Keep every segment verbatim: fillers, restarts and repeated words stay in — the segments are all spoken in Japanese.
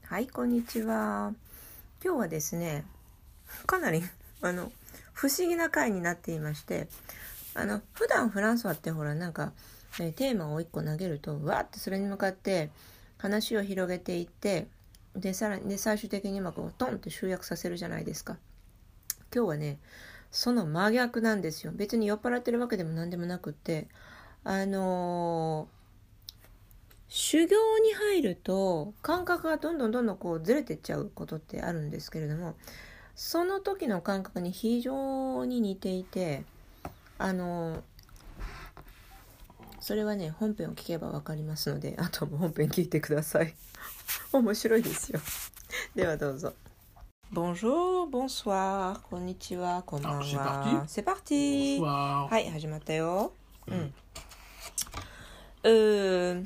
はい、こんにちは。今日はですね、かなりあの不思議な回になっていまして、あの普段フランス話ってほらなんか、ね、テーマをいっこ投げるとわーってそれに向かって話を広げていってでさらにで最終的にまこうトンって集約させるじゃないですか。今日はねその真逆なんですよ。別に酔っ払ってるわけでも何でもなくって、あのー修行に入ると感覚がどんどんどんどんこうずれてっちゃうことってあるんですけれども、その時の感覚に非常に似ていて、あのそれはね本編を聞けばわかりますので、あとも本編聞いてください。面白いですよ。ではどうぞ。Bonjour, bonsoir, こんにちは、こんばんは。C'est parti. はい、始まったよ。うん。うー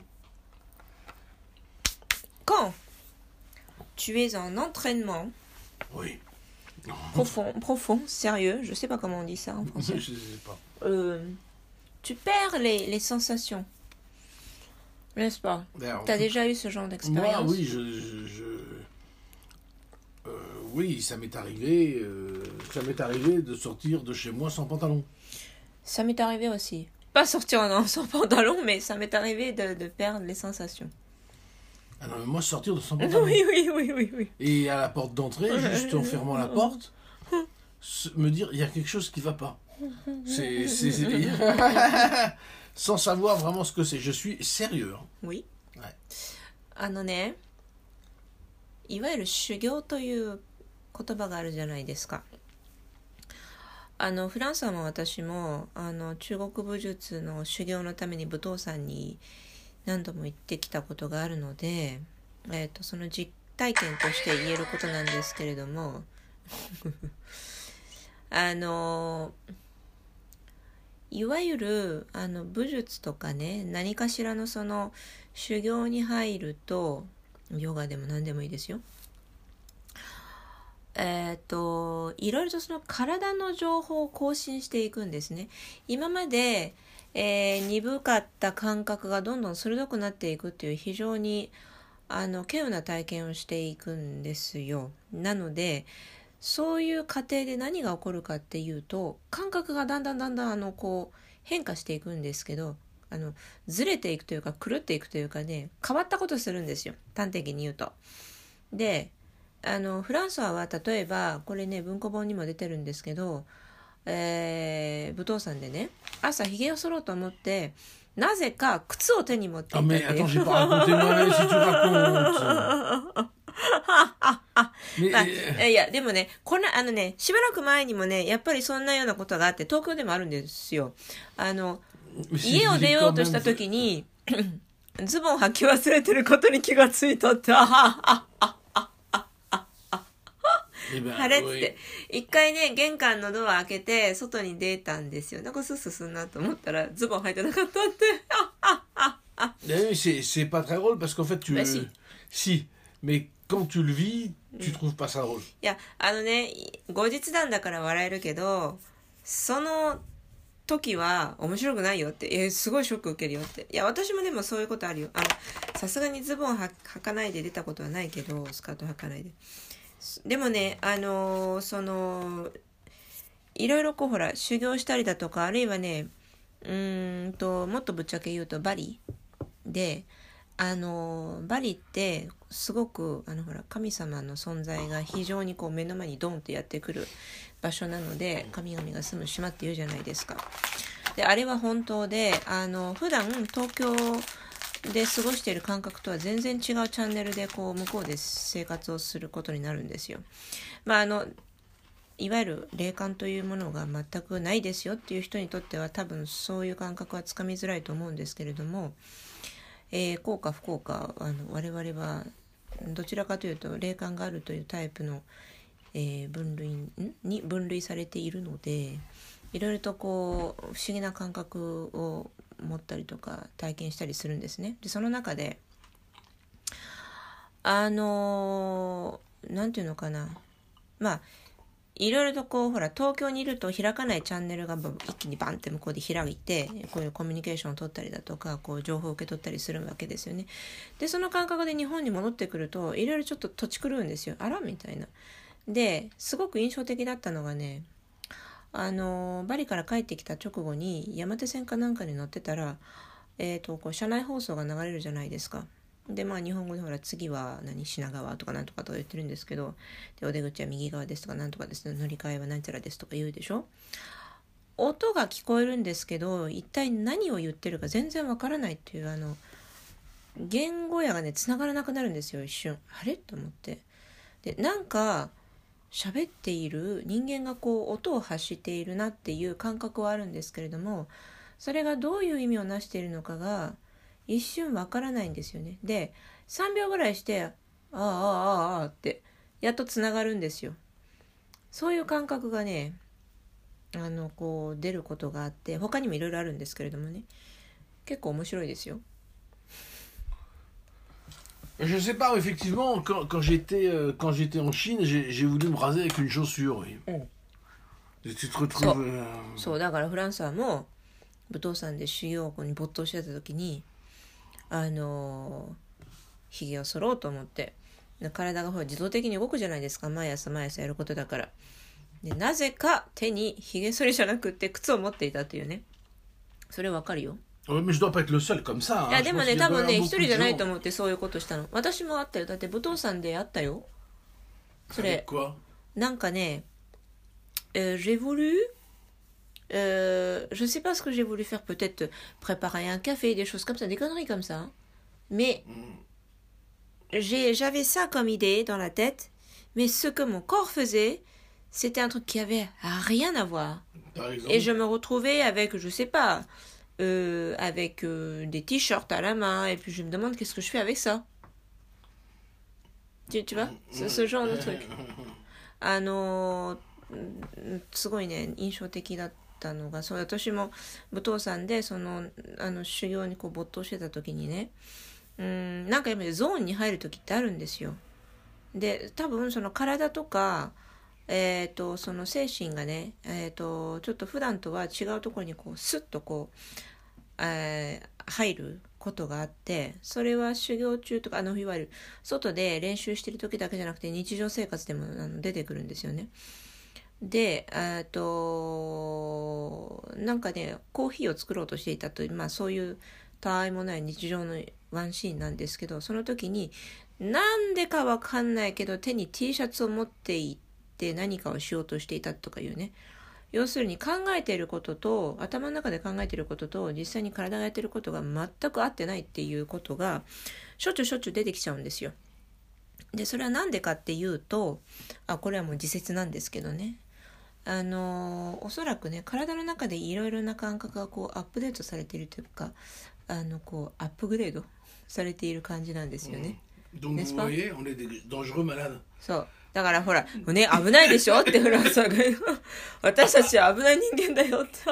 Quand tu es en entraînement oui. profond, profond, sérieux, je sais pas comment on dit ça en français. Je sais pas. Euh, tu perds les, les sensations, n'est-ce pas? Tu as déjà eu ce genre d'expérience? Moi, oui, je, je, je... Euh, oui, ça m'est arrivé. Euh, ça m'est arrivé de sortir de chez moi sans pantalon. Ça m'est arrivé aussi. Pas sortir en, sans pantalon, mais ça m'est arrivé de, de perdre les sensations. Ah non, mais moi, sortir de sans pantalon. Oui, oui, oui, oui, oui. Et à la porte d'entrée, juste en fermant la porte, me dire, il y a quelque chose qui va pas. C'est... c'est, c'est... Sans savoir vraiment ce que c'est. Je suis sérieux. Oui. Ouais. あのね、いわゆる修行という言葉があるじゃないですか。あのフランスも私もあの中国武術の修行のために武道山に何度も行ってきたことがあるので、えーと、その実体験として言えることなんですけれどもあのいわゆるあの武術とかね、何かしらのその修行に入ると、ヨガでも何でもいいですよ、えっといろいろとその体の情報を更新していくんですね。今までえー、鈍かった感覚がどんどん鋭くなっていくっていう非常にあの稀有な体験をしていくんですよ。なのでそういう過程で何が起こるかっていうと、感覚がだんだんだんだんあのこう変化していくんですけど、あのずれていくというか狂っていくというかね、変わったことするんですよ、端的に言うと。であのフランスは例えばこれね文庫本にも出てるんですけど、えー、武道山でね朝ひげを剃ろうと思ってなぜか靴を手に持っていたっていう。あ、 mais attends, j'ai pas raconté moi si tu racontes. まあ、いやでもねこのあのねしばらく前にもねやっぱりそんなようなことがあって、東京でもあるんですよ。あの家を出ようとした時にズボン履き忘れてることに気がついたって、あはあああれっつって一回ね玄関のドア開けて外に出たんですよ。なんかスースーすんなと思ったらズボン履いてなかったって。 c'est c'est pas très drôle parce qu'en fait tu bah, si. si mais quand tu le vis tu trouves pas ça drôle. いやあのね後日談だから笑えるけど、その時は面白くないよって、えー、すごいショック受けるよって。いや私もでもそういうことあるよ。あのさすがにズボンは履かないで出たことはないけど、スカート履かないで。でもね、あのー、そのいろいろこうほら修行したりだとか、あるいはねうーんともっとぶっちゃけ言うとバリで、あのー、バリってすごくあのほら神様の存在が非常にこう目の前にドンってやってくる場所なので、神々が住む島って言うじゃないですか。であれは本当で、あの普段東京で過ごしている感覚とは全然違うチャンネルでこう向こうで生活をすることになるんですよ。まああのいわゆる霊感というものが全くないですよっていう人にとっては多分そういう感覚はつかみづらいと思うんですけれども、えー、幸か不幸かあの我々はどちらかというと霊感があるというタイプの、えー、分類に分類されているので、いろいろとこう不思議な感覚を持ったりとか体験したりするんですね。でその中であのー、なんていうのかな、まあいろいろとこうほら東京にいると開かないチャンネルが一気にバンって向こうで開いてこういうコミュニケーションを取ったりだとかこう情報を受け取ったりするわけですよね。でその感覚で日本に戻ってくるといろいろちょっと土地狂うんですよ。あらみたいな。ですごく印象的だったのがね、あのバリから帰ってきた直後に山手線かなんかに乗ってたら、えーとこう車内放送が流れるじゃないですか。でまあ日本語でほら次は何品川とかなんとかとか言ってるんですけど、でお出口は右側ですとかなんとかですね、乗り換えはなんちゃらですとか言うでしょ。音が聞こえるんですけど一体何を言ってるか全然わからないっていう、あの言語やがね繋がらなくなるんですよ。一瞬あれと思って、でなんか喋っている人間がこう音を発しているなっていう感覚はあるんですけれども、それがどういう意味をなしているのかが一瞬わからないんですよね。でさんびょうぐらいしてああああああってやっとつながるんですよ。そういう感覚がねあのこう出ることがあって、他にもいろいろあるんですけれどもね、結構面白いですよ。 Je sais pas, effectivement, quand, quand j'étais euh, quand j'étais en Chine, j'ai, j'ai voulu me raser avec une chaussure, oui. Mm. Et tu te retrouves... そう、 euh... そうだからフランスはもう武道山で修行に没頭してた時にあのひげを剃ろうと思って、体がほら自動的に動くじゃないですか、毎朝毎朝やることだから。でなぜか手にひげ剃りじゃなくって靴を持っていたというね。それわかるよ。 Ouais, mais je dois pas être le seul comme ça. いや Hein. で Je も pense ね qu'il 多 doit y 分 avoir ね beaucoup 一 de 人じゃない gens. と思ってそういうことしたの。私もあったよ。だって武道山であったよそ Avec れ。 quoi? なんかね、euh, j'ai voulu euh, je sais pas ce que j'ai voulu faire, peut-être préparer un café, des choses comme ça, des conneries comme ça, mais j'ai, j'avais ça comme idée dans la tête, mais ce que mon corps faisait c'était un truc qui avait rien à voir. Par exemple? Et je me retrouvais avec, je sais pas, euh, avec euh, des t-shirts à la main, et puis je me demande qu'est-ce que je fais avec ça. Tu, tu vois, ce, ce genre de truc. あのすごいね印象的だったのが、そう私も武道山でそのあの修行にこう没頭してた時にね、うーんなんかやっぱりゾーンに入る時ってあるんですよ。で多分その体とかえーとその精神がね、えーとちょっと普段とは違うところにこうスッとこう、えー、入ることがあって、それは修行中とかあのいわゆる外で練習してる時だけじゃなくて日常生活でもあの出てくるんですよね。でえっとなんかねコーヒーを作ろうとしていたという、まあそういうたわいもない日常のワンシーンなんですけど、その時になんでかわかんないけど手に T シャツを持っていって何かをしようとしていたとかいうね、要するに考えていることと頭の中で考えていることと実際に体がやっていることが全く合ってないっていうことがしょっちゅうしょっちゅう出てきちゃうんですよ。でそれはなんでかっていうと、あこれはもう自説なんですけどね、あのおそらくね体の中でいろいろな感覚がこうアップデートされているというか、あのこうアップグレードされている感じなんですよね。 Donc vous voyez, on est des dangereux malades. そうだからほらね危ないでしょってフランスは私たちは危ない人間だよって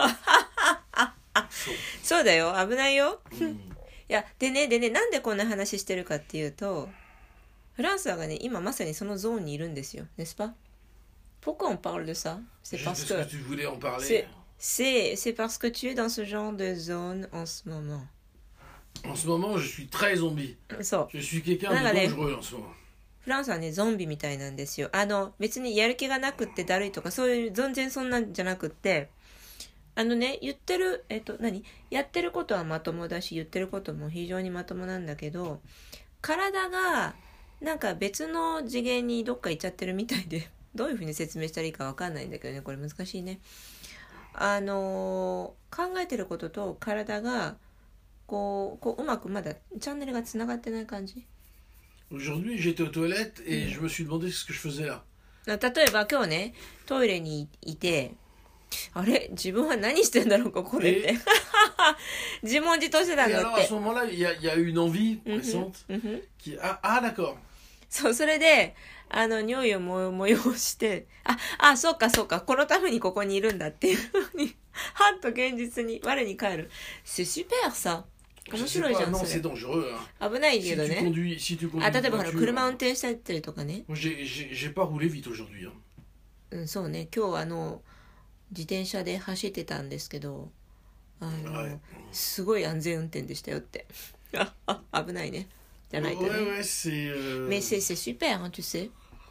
そうだよ危ないよ、うん、いやでねでねなんでこんな話してるかっていうと、フランスはがね今まさにそのゾーンにいるんですよ。n'est-ce pas? Pourquoi on parle de ça? C'est parce que, que tu voulais en parler. C'est, c'est, c'est parce que tu es dans ce genre de zone en ce moment. En ce moment, je suis très zombie. そう。 Je suis quelqu'un de dangereux en ce moment. フランスはねゾンビみたいなんですよ。あの別にやる気がなくってだるいとかそういう全然そんなんじゃなくって、あのね言ってるえっと何やってることはまともだし言ってることも非常にまともなんだけど、体がなんか別の次元にどっか行っちゃってるみたいでどういうふうに説明したらいいかわかんないんだけどね、これ難しいね。あの考えてることと体がこうこううまくまだチャンネルがつながってない感じ。 Aujourd'hui, j'étais aux toilettes et je me suis demandé ce que je faisais là. 例えば今日ねトイレにいて、あれ自分は何してんだろうかこれって自問自答してたん Et だ alors っ à て。 ce moment-là, il y a, il y a eu une envie pressante qui ah, ah d'accord. そうそれであの尿意をも催してああそうかそうかこのためにここにいるんだっていうふうにはっと現実に我に返る。C'est super ça。面白いじゃんそれ。危ないけどね。あ例えばほら車運転したりとかね。 J'ai j'ai j'ai pas roulé vite aujourd'hui. うん、そうね、今日あの自転車で走ってたんですけど、あの、はい、すごい安全運転でしたよってああ危ないねじゃないとね、 ouais, ouais, c'est, euh... mais c'est, c'est super hein, tu sais、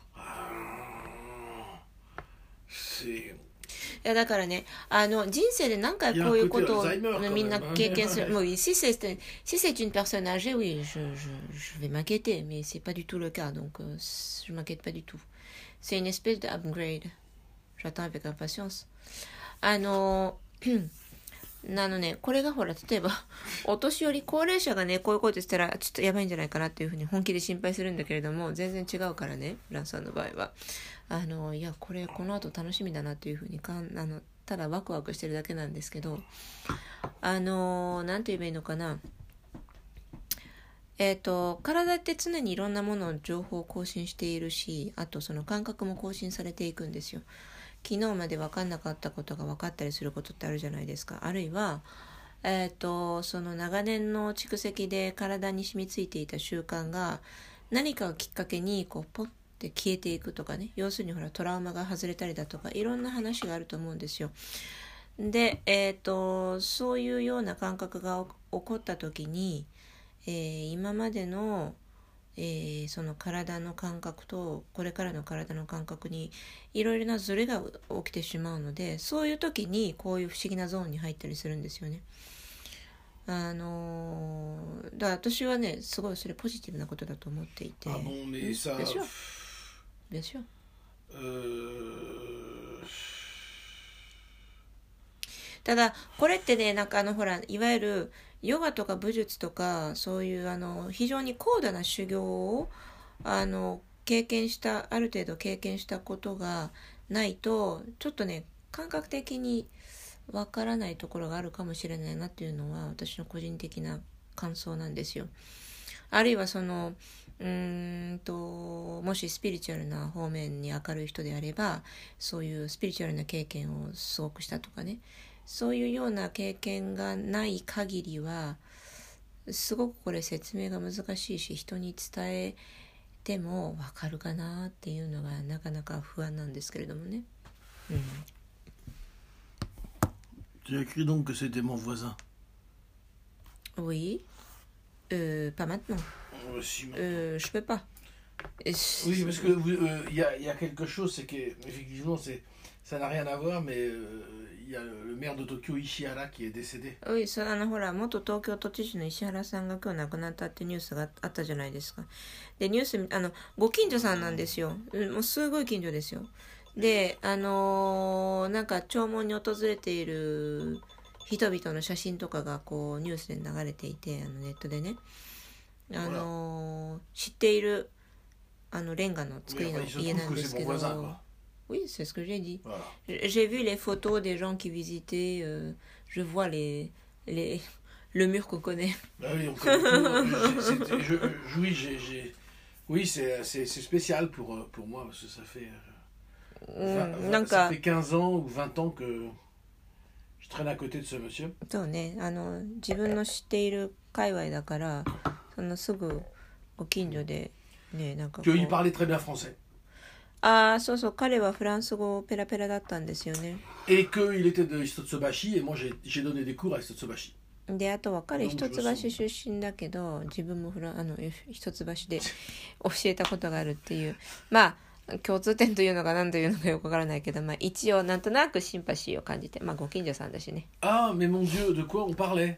c'est... いやだからね、あの人生で何回こういうことをみんな経験する。もうsi c'est si c'est une personne âgée, oui, je je je vais m'inquiéter, mais c'est pas du tout le cas, donc euh, je m'inquiète pas du tout. C'est une espèce de upgrade. J'attends avec impatience. あのなのね、これがほら例えばお年寄り高齢者がねこういうことしたらちょっとやばいんじゃないかなっていうふうに本気で心配するんだけれども、全然違うからね、フランさんの場合はあのいやこれこの後楽しみだなっていうふうにかんあのただワクワクしてるだけなんですけど、あのなんて言えばいいのかな、えっと体って常にいろんなものを情報を更新しているし、あとその感覚も更新されていくんですよ。昨日まで分かんなかったことが分かったりすることってあるじゃないですか。あるいは、えーと、その長年の蓄積で体に染みついていた習慣が何かをきっかけにこうポッて消えていくとかね、要するにほらトラウマが外れたりだとかいろんな話があると思うんですよ。で、えーと、そういうような感覚が起こった時に、えー、今までのえー、その体の感覚とこれからの体の感覚にいろいろなズレが起きてしまうので、そういう時にこういう不思議なゾーンに入ったりするんですよね。あのー、だから私はねすごいそれポジティブなことだと思っていて。 あ、bon, mais ça... bien sûr bien sûr、 euh... ただこれってね、なんかあのほらいわゆるヨガとか武術とかそういうあの非常に高度な修行をあの経験したある程度経験したことがないとちょっとね感覚的にわからないところがあるかもしれないなっていうのは私の個人的な感想なんですよ。あるいはそのうーんともしスピリチュアルな方面に明るい人であればそういうスピリチュアルな経験をすごくしたとかね、そういうような経験がない限りはすごくこれ説明が難しいし、人に伝えても分かるかなっていうのがなかなか不安なんですけれどもね。うん。 Tu as écrit donc que c'était mon voisin. Oui. Euh, pas maintenant. Euh, si, euh, je peux pas. Et oui, parce que il euh, y, a, y a quelque chose, c'est que effectivement c'est ça n'a rien à voir, mais il euh, y a le maire de Tokyo Ishihara qui est décédé. Oui, そうあのほら元東京都知事の石原さんが今日亡くなったってニュースがあったじゃないですか。でニュースあのご近所さんなんですよ。もうすごい近所ですよ。であのー、なんか弔問に訪れている人々の写真とかがこうニュースで流れていて、あのネットでね、あのー、知っているあのレンガの作りの家なんですけど。Oui, c'est ce que j'ai dit. Voilà. J'ai vu les photos des gens qui visitaient. Euh, je vois les, les, le mur qu'on connaît. Ah oui, on connaît. je, je, oui, j'ai, j'ai, oui c'est, c'est, c'est spécial pour, pour moi parce que ça fait, vingt, vingt, ça fait quinze ans ou vingt ans que je traîne à côté de ce monsieur. そうね、あの自分の知っている界隈だから、そのすぐご近所でね、なんかこう。 Il parlait très bien français. ああ、そうそう、彼はフランス語ペラペラだったんですよね。 Et qu'il était de Hitotsubashi, et moi j'ai, j'ai donné des cours à Hitotsubashi. で、あとは彼一橋出身だけど、自分もフラあの一橋で教えたことがあるっていう、まあ共通点というのが何というのかよくわからないけど、まあ一応なんとなくシンパシーを感じて、まあご近所さんだしね。 ああ、mais mon Dieu, de quoi on parlait?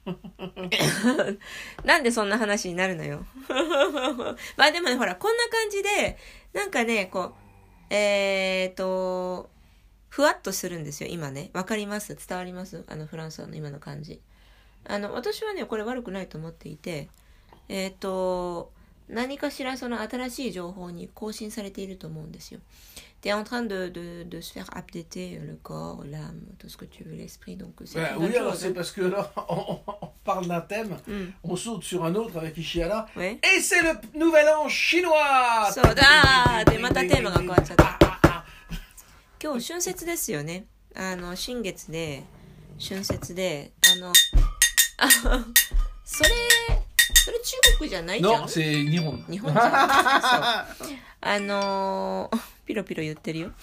なんでそんな話になるのよ。まあでもね、ほらこんな感じでなんかねこうえーとふわっとするんですよ今ね。わかります？伝わります？あのフランスの今の感じ。あの私はねこれ悪くないと思っていて、えーと何かしらその新しい情報に更新されていると思うんですよ。T'es en train de, de, de se faire updater le corps, l'âme, tout ce que tu veux, l'esprit. Donc, c'est ouais, oui, alors c'est parce que là, on, on parle d'un thème, mm. on saute sur un autre avec Ishihara, ouais. Et c'est le nouvel an chinois! そうだーで、またテーマが変わっちゃった。今日、春節ですよね。あの、新月で、春節で、あの、あそれ、それ中国じゃないじゃん。 Non, c'est 日本。 日本じゃん。そう。あのー、 ピロピロ言ってるよ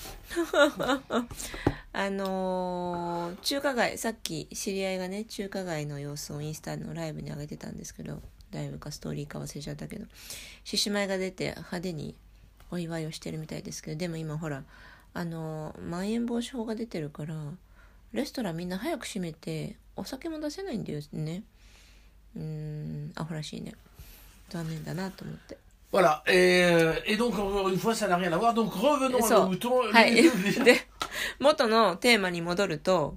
あのー、中華街、さっき知り合いがね中華街の様子をインスタのライブに上げてたんですけど、ライブかストーリーか忘れちゃったけど、獅子舞が出て派手にお祝いをしてるみたいですけど、でも今ほらあのー、まん延防止法が出てるからレストランみんな早く閉めてお酒も出せないんだよね。うーん、アホらしいね。残念だなと思って。 Voilà, et, et donc encore une fois ça n'a rien à voir, donc revenons à nos moutons. はいで元のテーマに戻ると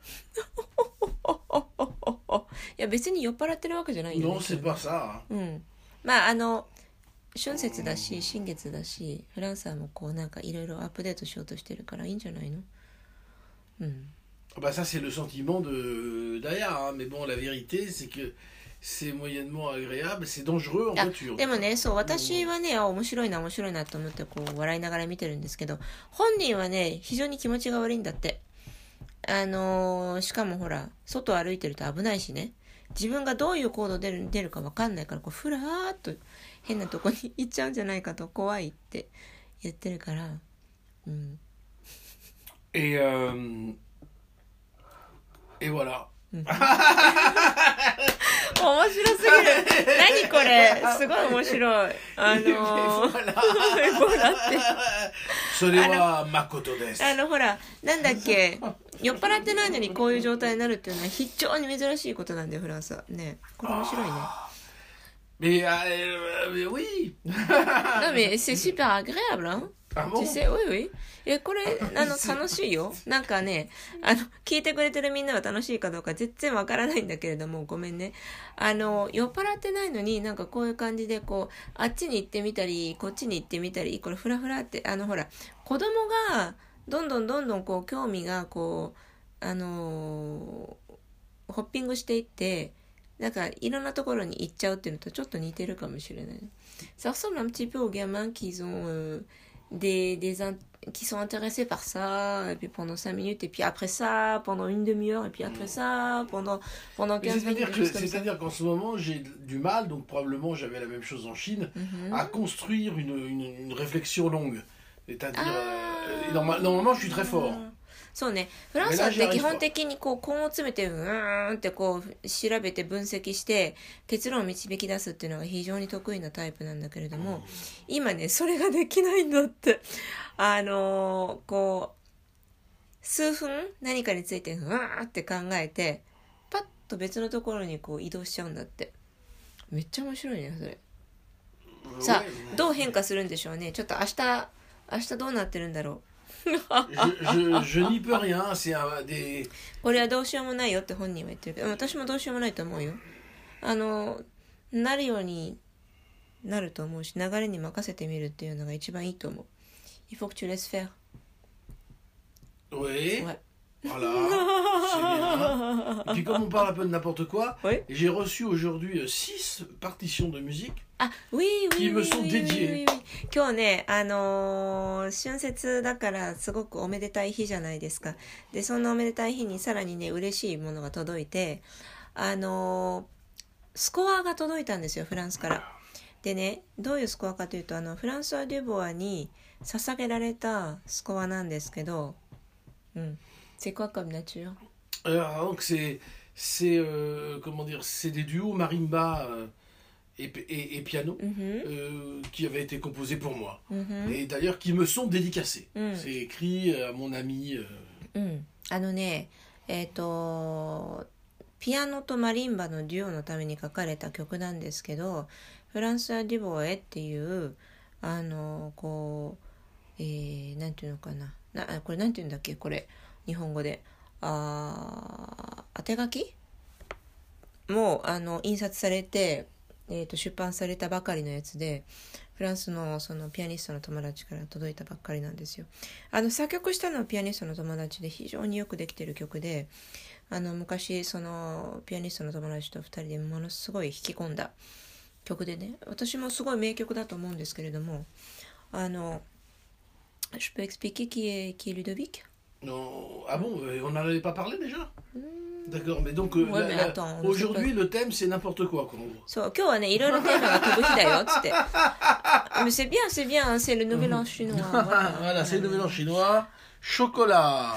いや別に酔っ払ってるわけじゃないよね。 Non, c'est pas ça. うん、まああの春節だし新月だしフランスはもうこうなんかいろいろアップデートしようとしてるからいいんじゃないの。うん。 Bah ça c'est le sentiment de d'Aya, hein. Mais bon la vérité c'est que c'est moyennement agréable, c'est dangereux en voiture. でもね、そう私はね、面白いな面白いなと思ってこう笑いながら見てるんですけど、本人はね非常に気持ちが悪いんだって。あのー、しかもほら外歩いてると危ないしね、自分がどういう行動出る出るか分かんないからこうふらーっと変なとこに行っちゃうんじゃないかと怖いって言ってるから、うん。 Et euh, et voilà. 面白すぎる。何これ、すごい面白い。あのー、ボラってそれは誠です。 あのほらなんだっけ、酔っ払ってないのにこういう状態になるっていうのは非常に珍しいことなんだよフランスはね。これ面白いね。 Mais, euh, mais oui. Non mais c'est super agréable hein. Ah bon? Tu sais, oui oui. えこれあの楽しいよ。なんかね、あの聞いてくれてるみんなは楽しいかどうか全然わからないんだけれども、ごめんね。あの酔っ払ってないのになんかこういう感じでこうあっちに行ってみたりこっちに行ってみたり、これフラフラってあのほら子供がどんどんどんどんこう興味がこうあのー、ホッピングしていって。なんかいろんなところに行っちゃうっていうのとちょっと似てるかもしれない。Ça ressemble un petit peu aux gamins qui ont euh, des, des qui sont intéressés par ça et puis pendant cinq minutes et puis après ça pendant une demi-heure et puis après ça pendant pendant quinze minutes. C'est-à-dire qu'en ce moment j'ai du mal, donc probablement j'avais la même chose en Chine, mm-hmm. à construire une, une, une réflexion longue. C'est-à-dire ah. euh, normalement je suis très fort. そうね、フランスって基本的にこう根を詰めてうーんってこう調べて分析して結論を導き出すっていうのが非常に得意なタイプなんだけれども、うん、今ねそれができないんだって。あのー、こう数分何かについてうーんって考えてパッと別のところにこう移動しちゃうんだって。めっちゃ面白いねそれ。さあどう変化するんでしょうね。ちょっと明日明日どうなってるんだろう。 je, je, je n'y peux rien, c'est un des... これはどうしようもないよって本人は言ってるけど、私もどうしようもないと思うよ。あのなるようになると思うし、流れに任せてみるっていうのが一番いいと思う。Il faut que tu laisses faire. Oui. Ouais. Voilà, c'est bien. Et puis comme on parle un peu de n'importe quoi, oui. J'ai reçu aujourd'hui six partitions de musique ah, oui, oui, qui me sont dédiées. Oui, oui, oui. 今日ね、あのー、春節だからすごくおめでたい日じゃないですか。で、そんなおめでたい日にさらにね、嬉しいものが届いて、あのー、スコアが届いたんですよ、フランスから。でね、どういうスコアかというと、あのフランソワ・デュボアに捧げられたスコアなんですけど、うん。C'est quoi comme nature? Alors, donc c'est, c'est euh, comment dire, c'est des duos marimba euh, et, et, et piano mm-hmm. euh, qui avaient été composés pour moi. Mm-hmm. Et d'ailleurs qui me sont dédicacés. Mm. C'est écrit à mon ami. Euh... Mm. あのね、えっと、ピアノとマリンバのデュオのために書かれた曲なんですけど、フランソワ・デュボエっていう、あの、こう、えー、なんていうのかな。な、これなんていうんだっけこれ。日本語であ当て書きもうあの印刷されて、えー、と出版されたばかりのやつでフランスのそのピアニストの友達から届いたばっかりなんですよ。あの作曲したのはピアニストの友達で非常によくできてる曲で、あの昔そのピアニストの友達とふたりでものすごい弾き込んだ曲でね、私もすごい名曲だと思うんですけれども、あのJe peux expliquer qui est, qui est Ludovic? Non. Ah bon, on n'en avait pas parlé déjà? D'accord, mais donc euh, Ouais, la- mais la- attends, aujourd'hui le thème c'est n'importe quoi, quoi en gros. そう今日はねいろいろテーマが飛ぶ日だよっつってmais c'est bien c'est bien c'est le nouvel an chinois Voilà, c'est le nouvel an chinois. Chocolat.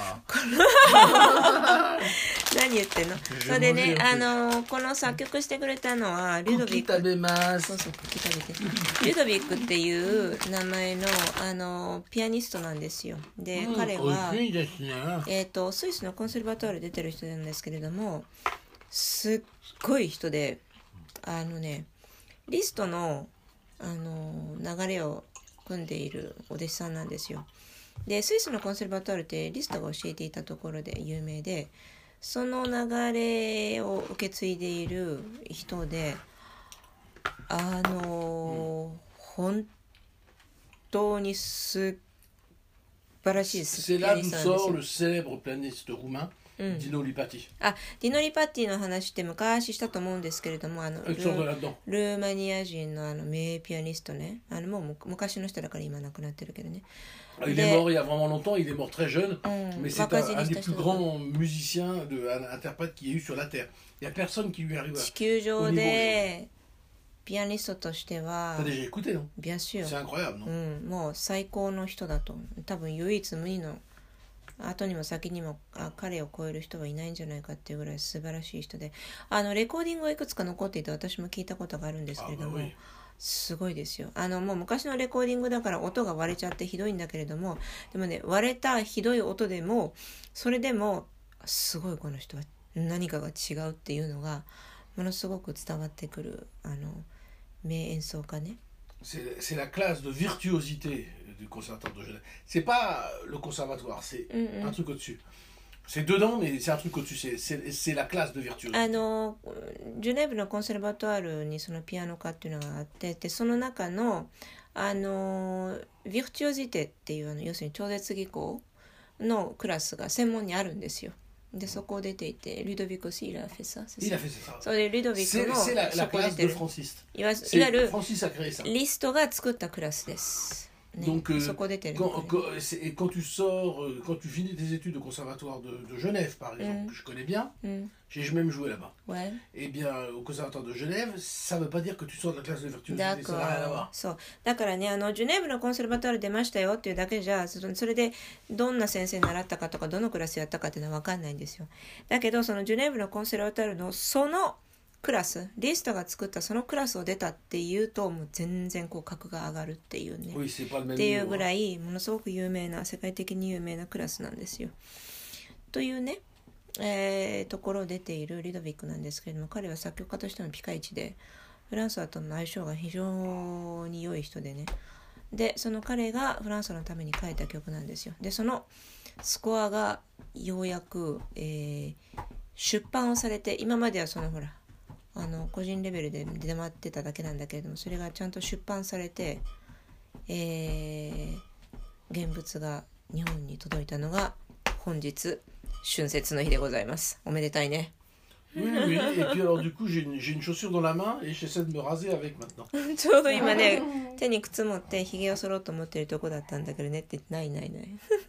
何言ってんのそれでねあのこの作曲してくれたのはリュドビ Cookie ック tabemas. そうそうクッキー食べてリュドビックっていう名前のあのピアニストなんですよで、 うん彼は美味しいですね。 えー、とスイスのコンセルバトール出てる人なんですけれどもすっごい人であのねリストの、あの流れを組んでいるお弟子さんなんですよでスイスのコンセルバトールってリストが教えていたところで有名でその流れを受け継いでいる人であの、うん、本当に素晴らしい C'est là d'où sort le célèbre pianiste roumain, Mm. Dino Lipatti. あ、ディノ・リパッティの話って昔したと思うんですけれどもあの Ils sont là-dedans. ルーマニア人のあの名ピアニストねあのもうむ昔の人だから今亡くなってるけどね Il est mort il y a vraiment longtemps, il est mort très jeune, Mm. mais c'est un, un des plus grands musiciens, de, un interprète qu'il y a eu sur la Terre. Il n'y a personne qui lui arrive à... 地球上でピアニストとしては T'as déjà écouté, non? Bien sûr. C'est incroyable, non? うん、もう最高の人だと多分唯一無二の後にも先にもあ彼を超える人はいないんじゃないかっていうぐらい素晴らしい人であのレコーディングがいくつか残っていて私も聞いたことがあるんですけれどもすごいですよあのもう昔のレコーディングだから音が割れちゃってひどいんだけれどもでもね割れたひどい音でもそれでもすごいこの人は何かが違うっていうのがものすごく伝わってくるあの名演奏家ね C'est, c'est la classe de virtuosité du conservatoire de Genève. C'est pas le conservatoire, c'est mm-hmm. un truc au-dessus. C'est dedans, mais c'est un truc au-dessus. C'est, c'est, c'est la classe de virtuosité. あのジュネーブのコンセルバトワールにそのピアノ科っていうのがあってでその中のあのヴィルチュオジテっていうあの要するに超絶技巧のクラスが専門にあるんですよ。でそこを出ていてルドビックaussi il a fait ça c'est ça. Il a fait ça. それでルドビックの c'est, c'est la, la classe de Francis. いわゆる Francis a créé ça. リストが作ったクラスです。ね、 Donc, euh, そこ出てる、ね、 quand, quand, c'est, quand tu sors, euh, quand tu finis tes études au conservatoire de, de Genève, par exemple, mm. que je connais bien, mm. j'ai même joué là-bas. Ouais. Eh bien, au conservatoire de Genève, ça ne veut pas dire que tu sors de la classe de virtuosité. Ça n'a rien à voir. そうだからねあのジュネーブのコンセルバトワール出ましたよっていうだけじゃそれでどんな先生に習ったかとかどのクラスやったかっていうのは分かんないんですよ。だけどそのジュネーブのコンセルバトワールのそのクラスリストが作ったそのクラスを出たっていうともう全然こう格が上がるっていうね、 oui, c'est pas le même っていうぐらいものすごく有名な世界的に有名なクラスなんですよというね、えー、ところを出ているリドビックなんですけれども彼は作曲家としてのピカイチでフランソワとの相性が非常に良い人でねでその彼がフランソワのために書いた曲なんですよでそのスコアがようやく、えー、出版をされて今まではそのほらあの個人レベルで出回ってただけなんだけれどもそれがちゃんと出版されて、えー、現物が日本に届いたのが本日春節の日でございますおめでたいね Oui, oui, et puis alors du coup j'ai une, j'ai une chaussure dans la main et j'essaie de me raser avec maintenant ちょうど今ね手に靴持ってひげを剃ろうと思ってるとこだったんだけどねってないないない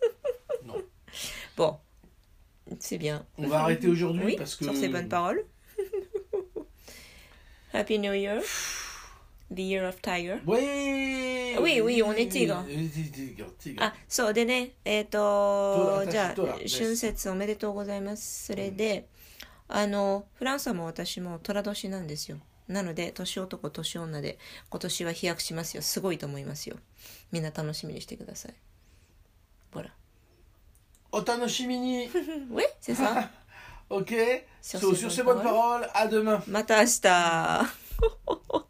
Non. Bon, c'est bien On va arrêter aujourd'hui oui, parce que... sur ces bonnes paroles Happy New Year, the Year of Tiger. Oui, oui, oui, on est tigre. tigre. あ、そうでね、えっと、じゃあ、春節おめでとうございます。それで、あの、フランスはも私も寅年なんですよ。なので、年男、年女で、今年は飛躍しますよ。すごいと思いますよ。みんな楽しみにしてください。ほら。 お楽しみに。 Oui, c'est ça. Ok, sur, sur ces bonnes paroles, à demain. また明日。